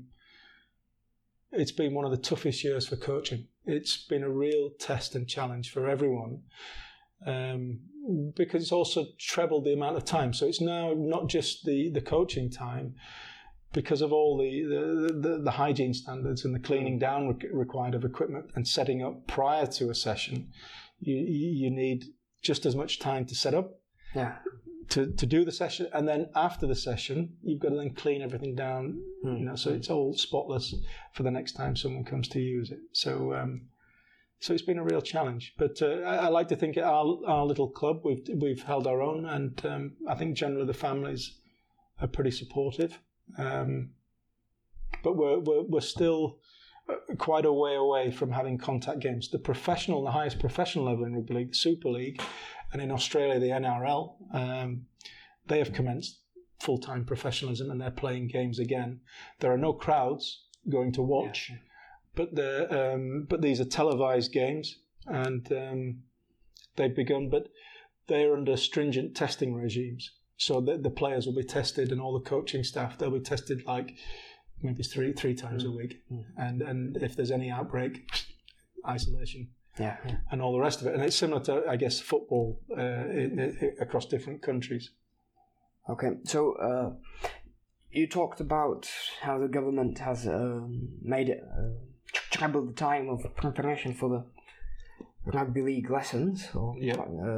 it's been one of the toughest years for coaching. It's been a real test and challenge for everyone, um, because it's also trebled the amount of time. So it's now not just the, the coaching time, because of all the, the, the, the hygiene standards and the cleaning down re- required of equipment and setting up prior to a session. You you need just as much time to set up, yeah, to, to do the session, and then after the session, you've got to then clean everything down, mm. you know, so it's all spotless for the next time someone comes to use it. So um, so it's been a real challenge. But uh, I, I like to think at our our little club we've we've held our own, and um, I think generally the families are pretty supportive. Um, but we're we're we're still quite a way away from having contact games. The professional, the highest professional level in rugby league, the Super League, and in Australia, the N R L, um, they have commenced full-time professionalism and they're playing games again. There are no crowds going to watch, yeah. but the um, but these are televised games, and um, they've begun, but they're under stringent testing regimes. So the, the players will be tested, and all the coaching staff, they'll be tested like maybe three three times mm. a week, mm. and and if there's any outbreak, isolation, yeah, yeah, and all the rest of it. And it's similar to, I guess, football uh, in, in, across different countries. Okay, so uh, you talked about how the government has um, made it uh, treble the time of preparation for the rugby league lessons. Or, yeah. Uh,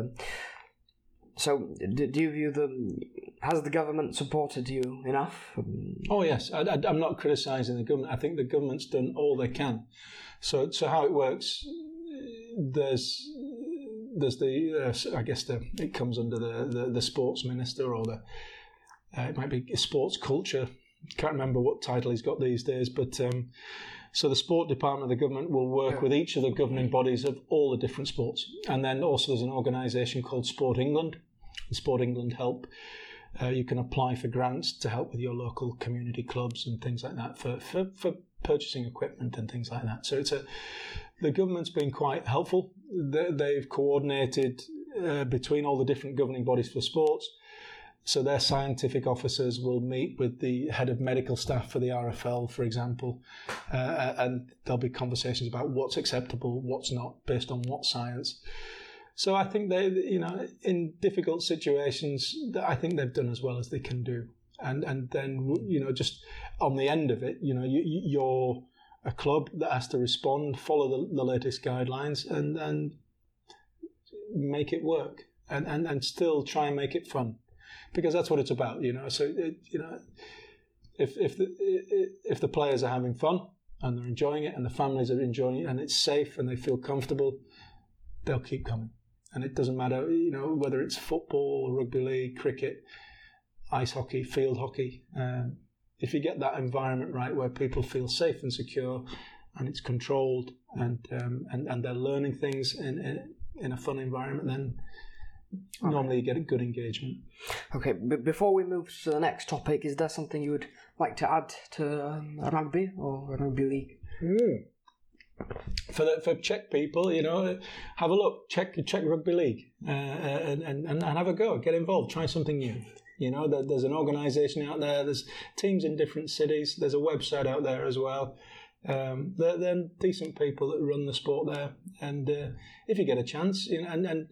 So, do, do you view the? Has the government supported you enough? Oh yes, I, I, I'm not criticising the government. I think the government's done all they can. So, so how it works? There's, there's the. Uh, I guess the it comes under the, the, the sports minister, or the. Uh, it might be sports culture. Can't remember what title he's got these days, but. Um, So the sport department of the government will work yeah. with each of the governing bodies of all the different sports. And then also there's an organisation called Sport England. And Sport England help. Uh, you can apply for grants to help with your local community clubs and things like that for, for, for purchasing equipment and things like that. So it's a the government's been quite helpful. They, they've coordinated uh, between all the different governing bodies for sports. So their scientific officers will meet with the head of medical staff for the R F L, for example, uh, and there'll be conversations about what's acceptable, what's not, based on what science. So I think they, you know, in difficult situations, I think they've done as well as they can do. And and then, you know, just on the end of it, you know, you, you're a club that has to respond, follow the, the latest guidelines, and and make it work, and, and and still try and make it fun. Because that's what it's about, you know. So, it, you know, if if the if the players are having fun and they're enjoying it, and the families are enjoying it, and it's safe and they feel comfortable, they'll keep coming. And it doesn't matter, you know, whether it's football, rugby league, cricket, ice hockey, field hockey. Um, if you get that environment right, where people feel safe and secure, and it's controlled, and um, and and they're learning things in in, in a fun environment, then Okay. Normally you get a good engagement. Okay, but before we move to the next topic, is there something you would like to add to um, rugby or rugby league? Mm. For the, for Czech people, you know, have a look, check Czech Rugby League, uh, and, and and have a go, get involved, try something new. You know, there, there's an organisation out there, there's teams in different cities, there's a website out there as well. Um, they're, they're decent people that run the sport there, and uh, if you get a chance, you know, and, and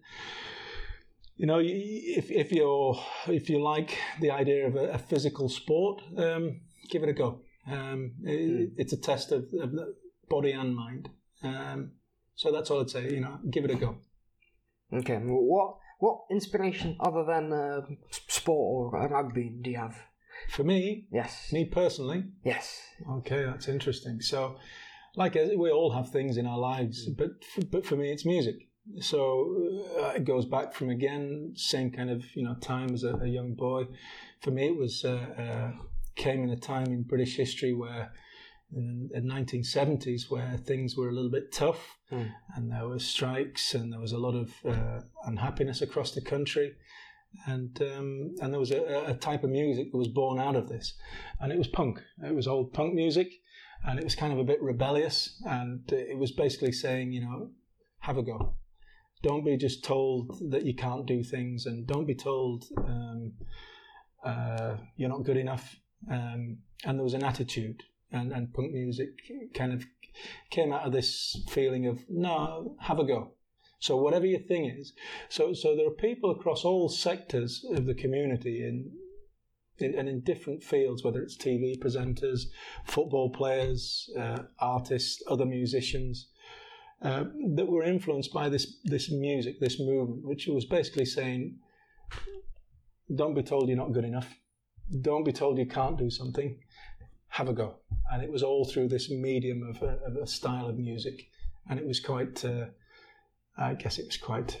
you know, if if you're if you like the idea of a, a physical sport, um, give it a go. Um, it, mm. It's a test of, of the body and mind. Um, so that's all I'd say. You know, give it a go. Okay. What what inspiration other than uh, sport or rugby do you have? For me, yes. Me personally, yes. Okay, that's interesting. So, like we all have things in our lives, but for, but for me, it's music. So uh, it goes back from again same kind of you know time as a, a young boy. For me, it was uh, uh, came in a time in British history where in the nineteen seventies where things were a little bit tough, mm. and there were strikes and there was a lot of uh, unhappiness across the country. And um, and there was a, a type of music that was born out of this, and it was punk. It was old punk music, and it was kind of a bit rebellious, and it was basically saying, you know, have a go. Don't be just told that you can't do things, and don't be told um, uh, you're not good enough. Um, and there was an attitude, and, and punk music kind of came out of this feeling of, no, have a go. So whatever your thing is, so so there are people across all sectors of the community in, in and in different fields, whether it's T V presenters, football players, uh, artists, other musicians, uh, that were influenced by this this music, this movement, which was basically saying, don't be told you're not good enough, don't be told you can't do something, have a go. And it was all through this medium of a, of a style of music, and it was quite. Uh, I guess it was quite.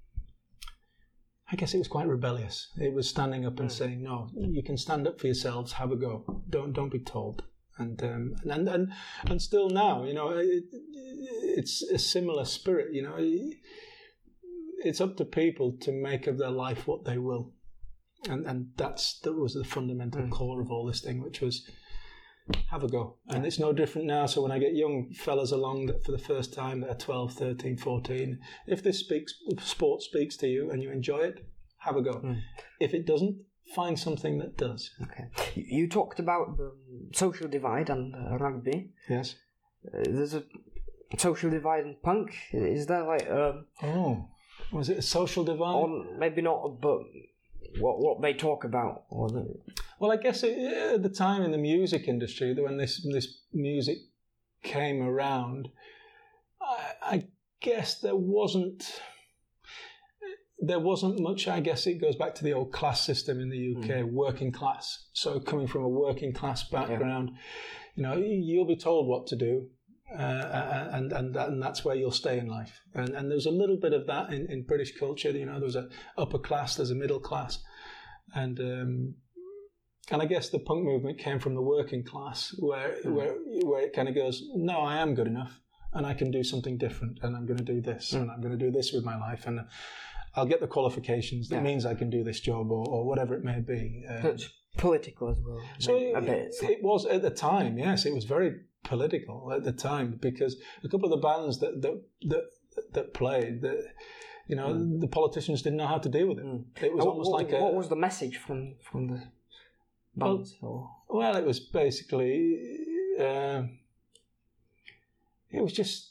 I guess it was quite rebellious. It was standing up and mm. saying, "No, you can stand up for yourselves. Have a go. Don't don't be told." And um, and and and still now, you know, it, it's a similar spirit. You know, it's up to people to make of their life what they will, and and that's that was the fundamental mm. core of all this thing, which was. Have a go. And it's no different now. So when I get young fellas along that for the first time that are twelve, thirteen, fourteen, if this speaks, sport speaks to you and you enjoy it, have a go. Mm. If it doesn't, find something that does. Okay. You talked about the social divide and uh, rugby. Yes. Uh, there's a social divide in punk. Is there like... Um, oh, was it a social divide? Or maybe not, but... What what they talk about, or the... Well, I guess it, at the time in the music industry, when this this music came around, I, I guess there wasn't there wasn't much. I guess it goes back to the old class system in the U K, mm. working class. So coming from a working class background, yeah. you know, you'll be told what to do. Uh, and and that, and that's where you'll stay in life. And and there's a little bit of that in, in British culture. You know, there's a upper class, there's a middle class, and um, and I guess the punk movement came from the working class, where mm. where where it kind of goes, no, I am good enough, and I can do something different, and I'm going to do this, mm. and I'm going to do this with my life, and I'll get the qualifications. That yeah. means I can do this job, or, or whatever it may be. Um, it's political as well. So it, a bit. It was at the time. Yes, it was very political at the time, because a couple of the bands that that that, that played, that, you know, mm. the politicians didn't know how to deal with it. Mm. It was what, almost what, like a. What was the message from from the bands? Well, well it was basically, uh, it was just.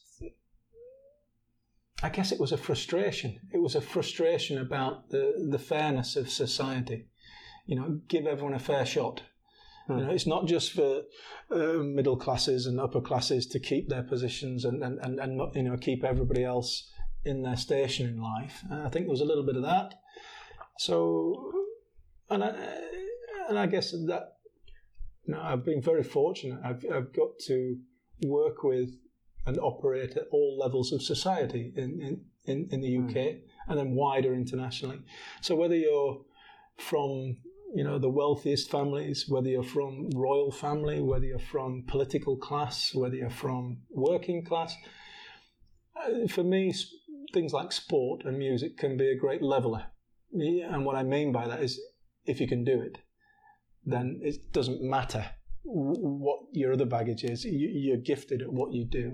I guess it was a frustration. It was a frustration about the the fairness of society. You know, give everyone a fair shot. You know, it's not just for uh, middle classes and upper classes to keep their positions and, and, and, and not, you know, keep everybody else in their station in life. And I think there was a little bit of that. So, and I, and I guess that, you know, I've been very fortunate. I've I've got to work with and operate at all levels of society in, in, in, in the U K mm. and then wider internationally. So whether you're from you know, the wealthiest families, whether you're from royal family, whether you're from political class, whether you're from working class. Uh, for me, things like sport and music can be a great leveller. And what I mean by that is, if you can do it, then it doesn't matter what your other baggage is. You're gifted at what you do.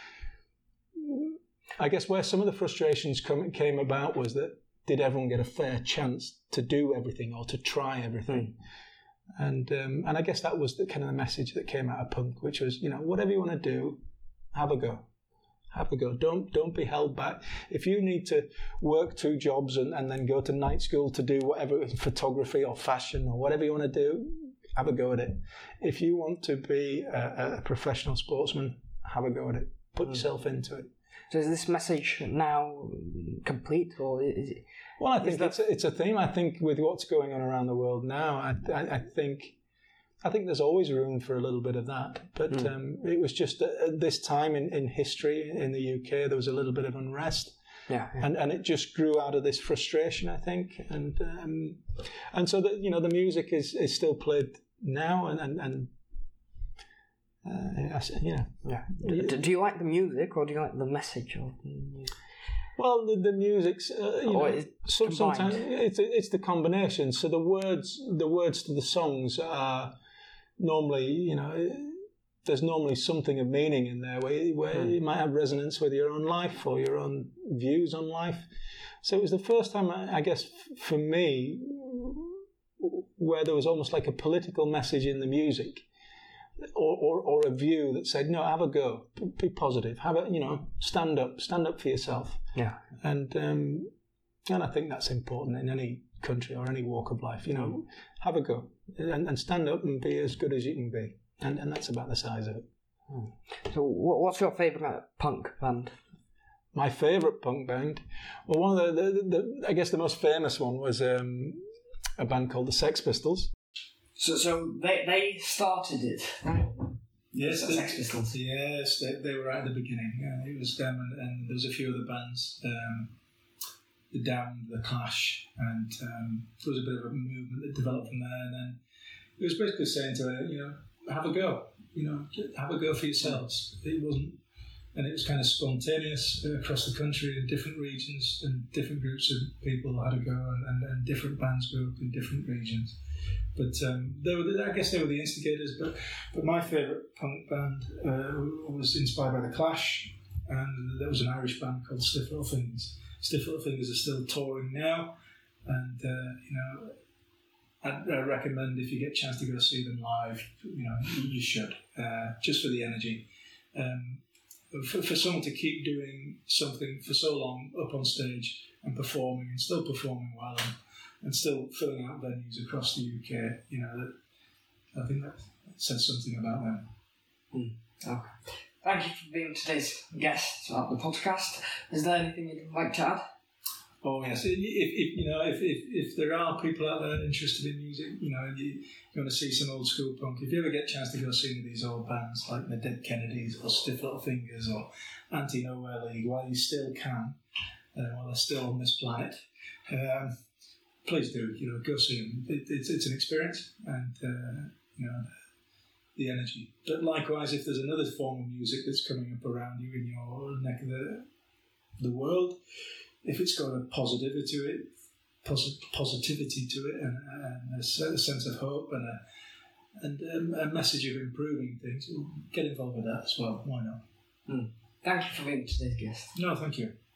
I guess where some of the frustrations come, came about was that, did everyone get a fair chance to do everything or to try everything? Mm. And um, and I guess that was the kind of the message that came out of punk, which was, you know, whatever you want to do, have a go. Have a go. Don't don't be held back. If you need to work two jobs and, and then go to night school to do whatever, photography or fashion or whatever you want to do, have a go at it. If you want to be a, a professional sportsman, have a go at it. Put mm. yourself into it. So is this message now complete, or is it? Well, I think that... it's a, it's a theme. I think with what's going on around the world now, I I, I think I think there's always room for a little bit of that. But mm. um, it was just at this time in, in history in the U K, there was a little bit of unrest. Yeah, yeah. And and it just grew out of this frustration, I think. And um, and so that, you know, the music is, is still played now, and and. and Uh, yeah, yeah. Do, do you like the music, or do you like the message of the music? Well, the, the music's uh, you or know, some, sometimes it's it's the combination. So the words, the words to the songs are normally, you know, there's normally something of meaning in there where where hmm. it might have resonance with your own life or your own views on life. So it was the first time, I guess, for me, where there was almost like a political message in the music. Or, or, or a view that said, no, have a go, be positive, have a, you know, stand up, stand up for yourself. Yeah. And um, and I think that's important in any country or any walk of life. You know, mm. have a go and, and stand up and be as good as you can be. And and that's about the size of it. Mm. So, what's your favourite punk band? My favourite punk band, well, one of the, the, the I guess the most famous one was um, a band called the Sex Pistols. So, so they they started it, right? Yes, the Sex Pistols. Yes, they, they were right at the beginning. Yeah, it was them, and, and there was a few other bands, um, the Damned, the Clash, and um, there was a bit of a movement that developed from there. And then it was basically saying to her, you know, have a go, you know, have a go for yourselves. It wasn't, and it was kind of spontaneous across the country in different regions, and different groups of people had a go, and, and, and different bands grew up in different regions. But um, they were, I guess they were the instigators. But but my favourite punk band uh, was inspired by the Clash, and there was an Irish band called Stiff Little Fingers. Stiff Little Fingers are still touring now, and uh, you know, I'd, I recommend if you get a chance to go see them live, you know, you should, uh, just for the energy. Um, for, for someone to keep doing something for so long up on stage and performing and still performing well. And, and still filling out venues across the U K, you know, that, I think that says something about them. Mm. Okay. Thank you for being today's guest at the podcast. Is there anything you'd like to add? Oh yes, if, if you know, if, if if there are people out there interested in music, you know, you, you want to see some old school punk. If you ever get a chance to go see one of these old bands like the Dead Kennedys or Stiff Little Fingers or Anti Nowhere League, while you still can, uh, while they're still on this planet. Um, Please do, you know, go see them. It, it's it's an experience, and uh, you know, the energy. But likewise, if there's another form of music that's coming up around you in your neck of the the world, if it's got a positivity to it, posit- positivity to it, and, and a sense of hope, and a and a, a message of improving things, get involved with that as well. Why not? Mm. Thank you for being today's guest. No, thank you.